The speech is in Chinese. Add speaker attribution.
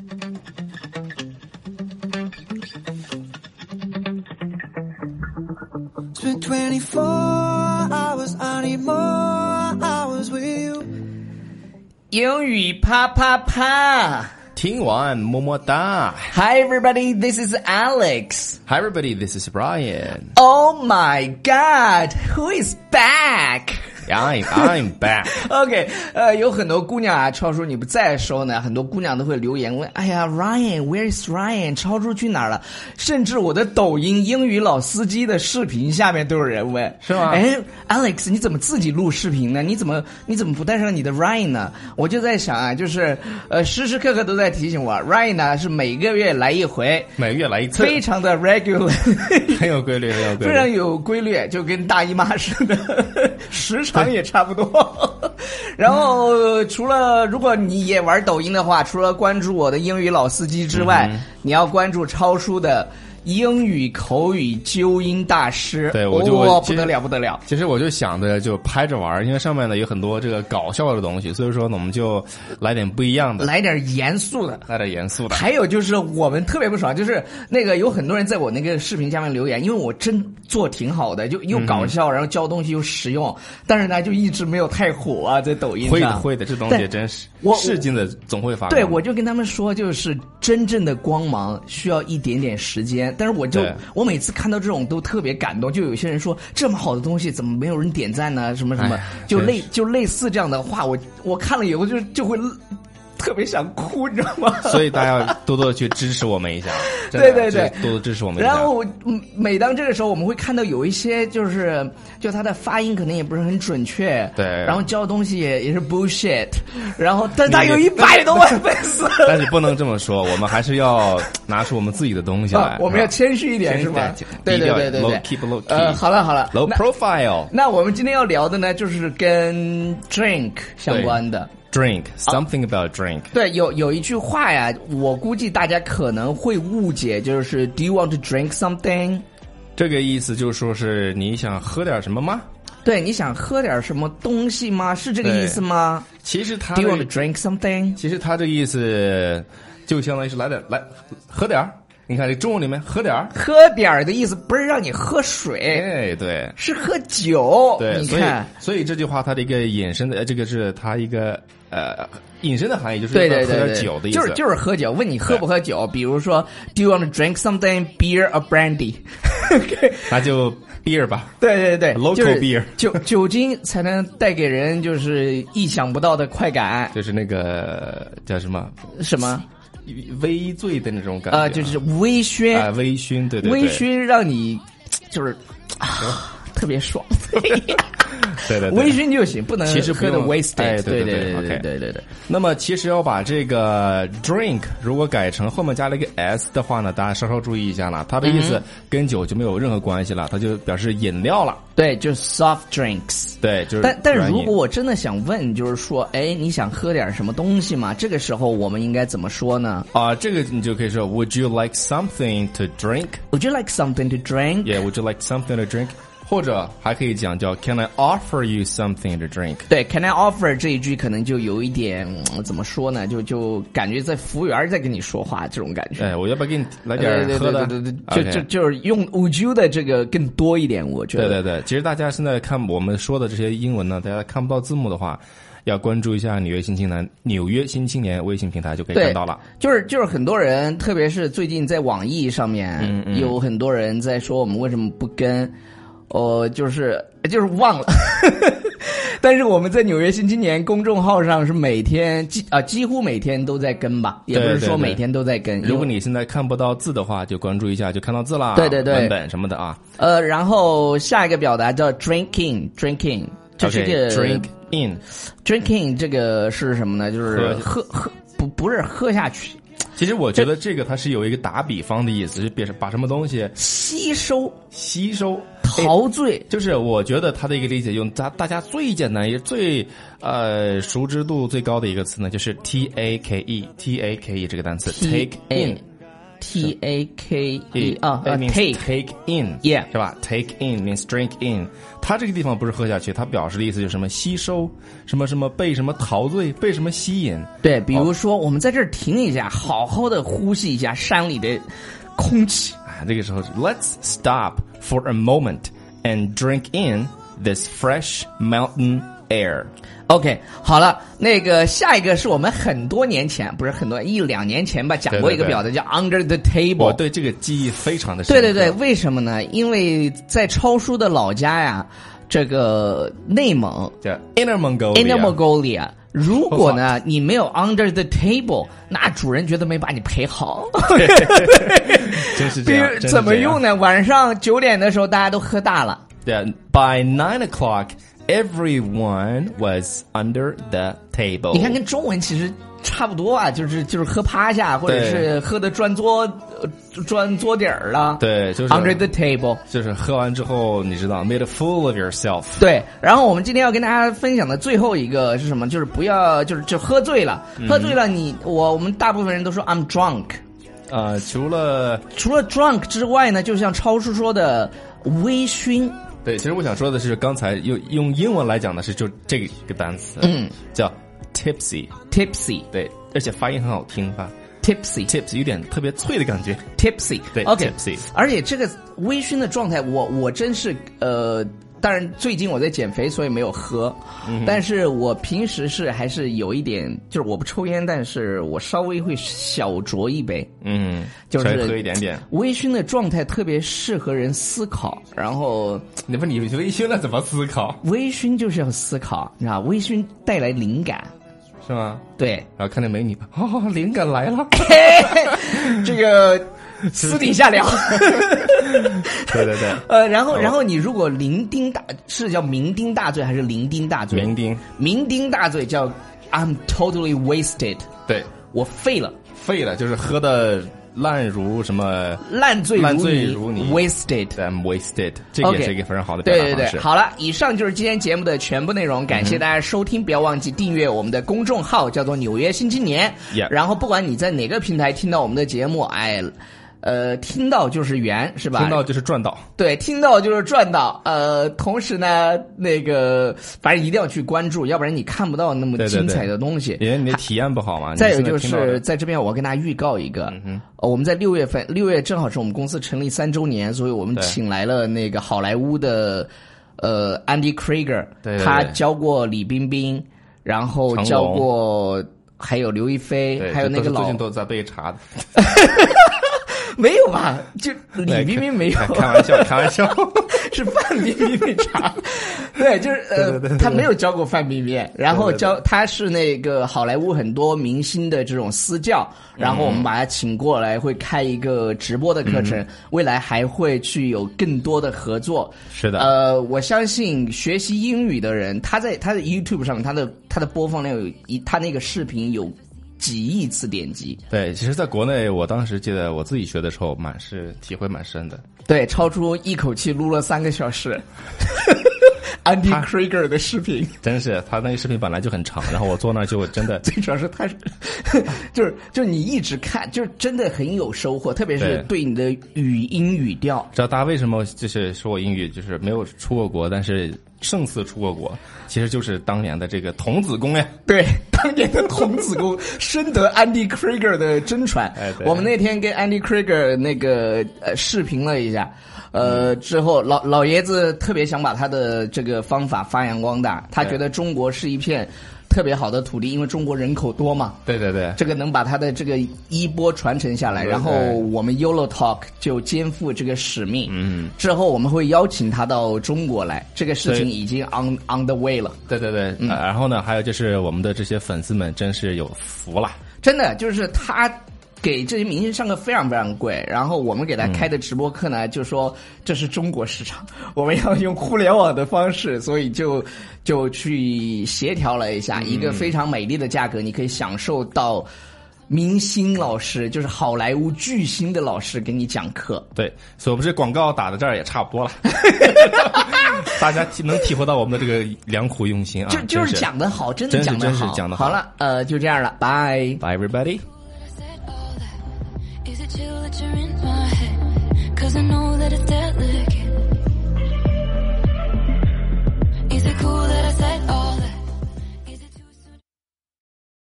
Speaker 1: Spent 24 hours, I need more hours with you.
Speaker 2: 英语啪啪啪。
Speaker 3: 听完么么哒。
Speaker 2: Hi everybody, this is Alex.
Speaker 3: Hi everybody, this is Brian.
Speaker 2: Oh my god, who is back?
Speaker 3: I'm back.
Speaker 2: OK, 有很多姑娘啊，超叔你不在的时候呢，很多姑娘都会留言问，哎呀 Ryan, where is Ryan? 超叔去哪儿了？甚至我的抖音英语老司机的视频下面都有人问，
Speaker 3: 是吗？
Speaker 2: 哎 Alex 你怎么自己录视频呢？你怎么不带上你的 Ryan 呢？我就在想啊，就是时时刻刻都在提醒我 Ryan 呢是每个月来一回，
Speaker 3: 每个月来一次，
Speaker 2: 非常的 regular
Speaker 3: 很有规律，
Speaker 2: 非常有规律，就跟大姨妈似的，时长也差不多。然后除了如果你也玩抖音的话，除了关注我的英语老司机之外，你要关注超叔的英语口语纠音大师。
Speaker 3: 对，
Speaker 2: 不得了不得了。
Speaker 3: 其实我就想着就拍着玩，因为上面呢有很多这个搞笑的东西，所以说呢我们就来点不一样的，
Speaker 2: 来点严肃的。还有就是我们特别不爽，就是那个有很多人在我那个视频下面留言，因为我真做挺好的，就又搞笑，然后教东西又实用，但是呢就一直没有太火啊，在抖音上。
Speaker 3: 会的，这东西真是试镜的总会发光。
Speaker 2: 对，我就跟他们说，就是真正的光芒需要一点点时间。但是我每次看到这种都特别感动，就有些人说这么好的东西怎么没有人点赞呢？什么什么，就类似这样的话，我看了以后就会特别想哭，你知道吗？
Speaker 3: 所以大家要多多的去支持我们一下。
Speaker 2: 对，
Speaker 3: 多多支持我们一下。
Speaker 2: 然后每当这个时候，我们会看到有一些就他的发音可能也不是很准确，
Speaker 3: 对，
Speaker 2: 然后教的东西也是 bullshit， 然后但他有100多万粉丝。
Speaker 3: 但是不能这么说，我们还是要拿出我们自己的东西来。
Speaker 2: 我们要谦虚一点，是吧？对。
Speaker 3: Low key。
Speaker 2: 好了
Speaker 3: ，low profile。
Speaker 2: 那我们今天要聊的呢，就是跟 drink 相关的。
Speaker 3: Drink something about drink。
Speaker 2: 对，有一句话呀，我估计大家可能会误解，就是 Do you want to drink something？
Speaker 3: 这个意思就是说是你想喝点什么吗？
Speaker 2: 对，你想喝点什么东西吗？是这个意思吗？
Speaker 3: 其实他
Speaker 2: Do you want to drink something？
Speaker 3: 其实他这个意思就相当于是来喝点儿。你看这中文里面喝点儿
Speaker 2: 的意思不是让你喝水，
Speaker 3: 哎，对，
Speaker 2: 是喝酒。
Speaker 3: 对，
Speaker 2: 你看，
Speaker 3: 所以这句话它的一个引申的，这个是它一个引申的含义，就是
Speaker 2: 对
Speaker 3: 喝点酒的意思，
Speaker 2: 就是喝酒。问你喝不喝酒，比如说 Do you want to drink something, beer or brandy？
Speaker 3: 那就 beer 吧。
Speaker 2: 对
Speaker 3: ，local beer，
Speaker 2: 酒精才能带给人就是意想不到的快感，
Speaker 3: 就是那个叫什么微醉的那种感觉，
Speaker 2: 就是微醺
Speaker 3: 啊，微醺，对，
Speaker 2: 微醺让你就是特别爽。
Speaker 3: 对，
Speaker 2: 微醺就行，不能
Speaker 3: 其实
Speaker 2: 喝的 wasted。
Speaker 3: 对。那么其实要把这个 drink 如果改成后面加了一个 s 的话呢，大家稍稍注意一下了，它的意思跟酒就没有任何关系了，它就表示饮料了。
Speaker 2: 对，就是 soft drinks。
Speaker 3: 对，就是。
Speaker 2: 但是如果我真的想问，就是说，哎，你想喝点什么东西吗？这个时候我们应该怎么说呢？
Speaker 3: 这个你就可以说 Would you like something to drink?
Speaker 2: Would you like something to drink?
Speaker 3: Yeah, would you like something to drink? 或者还可以讲叫 Can I offer you something to drink？
Speaker 2: 对 Can I offer 这一句可能就有一点怎么说呢，就感觉在服务员在跟你说话这种感觉。
Speaker 3: 哎，我要不要给你来点喝的？
Speaker 2: 对，就是用 would you 的这个更多一点，我觉得。
Speaker 3: 对，其实大家现在看我们说的这些英文呢，大家看不到字幕的话，要关注一下纽约新青年微信平台就可以看到了。
Speaker 2: 就是很多人，特别是最近在网易上面，有很多人在说我们为什么不跟。就是忘了，但是我们在纽约新青年公众号上是每天几乎每天都在跟吧，也不是说每天都在跟。
Speaker 3: 如果你现在看不到字的话，就关注一下，就看到字啦。
Speaker 2: 对，
Speaker 3: 文本什么的啊。
Speaker 2: 然后下一个表达叫 drinking， 就是这个 drinking 这个是什么呢？就是喝不是喝下去。
Speaker 3: 其实我觉得这个它是有一个打比方的意思，就是把什么东西
Speaker 2: 吸收陶醉，
Speaker 3: 就是我觉得它的一个理解用大家最简单也最熟知度最高的一个词呢，就是 take 这个单词 take in
Speaker 2: T-A-K-E
Speaker 3: take in
Speaker 2: Yeah
Speaker 3: 是吧 take in means drink in 它这个地方不是喝下去，它表示的意思就是什么吸收什么什么被什么陶醉被什么吸引。
Speaker 2: 对，比如说我们在这儿停一下，好好的呼吸一下山里的空气。
Speaker 3: 这个时候 let's stop for a moment and drink in this fresh mountain air。
Speaker 2: OK， 好了，那个下一个是我们很多年前，不是很多1-2年前吧，讲过一个表的，叫 Under the Table。
Speaker 3: 我对这个记忆非常的深刻。
Speaker 2: 对对对，为什么呢？因为在超叔的老家呀，这个内蒙
Speaker 3: 叫 Inner Mongolia。
Speaker 2: 如果呢你没有 Under the Table， 那主人觉得没把你陪好。
Speaker 3: 真是这样。
Speaker 2: 比如怎么用呢？晚上9点的时候大家都喝大了。
Speaker 3: Yeah, by 9 o'clock.Everyone was under the table。
Speaker 2: 你看，跟中文其实差不多啊，就是喝趴下，或者是喝的转桌底儿了。
Speaker 3: 对，就是
Speaker 2: under the table，
Speaker 3: 就是喝完之后，你知道 ，made a fool of yourself。
Speaker 2: 对，然后我们今天要跟大家分享的最后一个是什么？就是不要，就喝醉了，喝醉了我们大部分人都说 I'm drunk。
Speaker 3: 除了
Speaker 2: drunk 之外呢，就像超叔说的微醺。
Speaker 3: 对，其实我想说的是，刚才用英文来讲的是就这个单词，叫 tipsy。对，而且发音很好听吧 ，tipsy 有点特别脆的感觉
Speaker 2: ，tipsy。
Speaker 3: 对
Speaker 2: ，OK，
Speaker 3: tipsy。
Speaker 2: 而且这个微醺的状态，我真是当然最近我在减肥，所以没有喝，但是我平时还是有一点，就是我不抽烟，但是我稍微会小酌一杯，就是
Speaker 3: 喝一点点。
Speaker 2: 微醺的状态特别适合人思考，然后
Speaker 3: 你微醺了怎么思考？
Speaker 2: 微醺就是要思考，你知道，微醺带来灵感，
Speaker 3: 是吗？
Speaker 2: 对，
Speaker 3: 然后看见美女，灵感来了，
Speaker 2: 这个。私底下聊。
Speaker 3: 对对对。
Speaker 2: 然后你如果是叫酩酊大醉还是酩酊大醉？酩酊大醉叫 I'm totally wasted。
Speaker 3: 对，
Speaker 2: 我废了，
Speaker 3: 就是喝的烂如什么
Speaker 2: 烂醉
Speaker 3: 如泥
Speaker 2: wasted。
Speaker 3: I'm wasted， 这个也是一个非常好的表达方式。
Speaker 2: 对对对，好了，以上就是今天节目的全部内容，感谢大家收听，不要忘记订阅我们的公众号，叫做纽约新青年。然后不管你在哪个平台听到我们的节目，听到就是缘，是吧？
Speaker 3: 听到就是赚到。
Speaker 2: 对，听到就是赚到。同时呢，反正一定要去关注，要不然你看不到那么精彩的东西。
Speaker 3: 因为你的体验不好嘛。
Speaker 2: 再有就是在这边我要跟大家预告一个，我们在6月正好是我们公司成立3周年，所以我们请来了那个好莱坞的Andy Krieger， 他教过李冰冰，然后教过还有刘亦菲，还有那个
Speaker 3: 最近都在被查的。
Speaker 2: 没有吧？就李冰冰没有，
Speaker 3: 开玩笑，
Speaker 2: 是范冰冰被查。对，就是他没有教过范冰冰，然后他是那个好莱坞很多明星的这种私教，然后我们把他请过来，会开一个直播的课程，未来还会去有更多的合作。
Speaker 3: 是的，
Speaker 2: 我相信学习英语的人，他在他的 YouTube 上面，他的播放量他那个视频有几亿次点击。
Speaker 3: 对，其实在国内我当时记得我自己学的时候体会蛮深的。
Speaker 2: 对，超出一口气录了3个小时Andy Krieger 的视频。
Speaker 3: 真是，他那个视频本来就很长，然后我坐那儿就真的
Speaker 2: 最主要是他就是你一直看，就是真的很有收获，特别是对你的语音语调。
Speaker 3: 知道大家为什么就是说我英语就是没有出过国，但是胜似出过国，其实就是当年的这个童子功呀。
Speaker 2: 对，当年的童子功深得 Andy Krieger 的真传。我们那天跟 Andy Krieger 那个视频了一下，之后老爷子特别想把他的这个方法发扬光大，他觉得中国是一片特别好的土地，因为中国人口多嘛。
Speaker 3: 对对对，
Speaker 2: 这个能把他的这个衣钵传承下来，然后我们 YOLO Talk 就肩负这个使命。之后我们会邀请他到中国来，这个事情已经 on the way 了。
Speaker 3: 对对对，然后呢，还有就是我们的这些粉丝们真是有福了，
Speaker 2: 真的就是他给这些明星上课非常非常贵，然后我们给他开的直播课呢，就说这是中国市场，我们要用互联网的方式，所以就去协调了一下，一个非常美丽的价格，你可以享受到明星老师，就是好莱坞巨星的老师给你讲课。
Speaker 3: 对，所以我们这广告打到这儿也差不多了，大家能体会到我们的这个良苦用心啊，
Speaker 2: 就是讲得好，真的讲得好，
Speaker 3: 真是讲得好。
Speaker 2: 好了，就这样了，拜
Speaker 3: Bye everybody。
Speaker 1: Is it too late picture in my head, 'cause I know that it's deadly.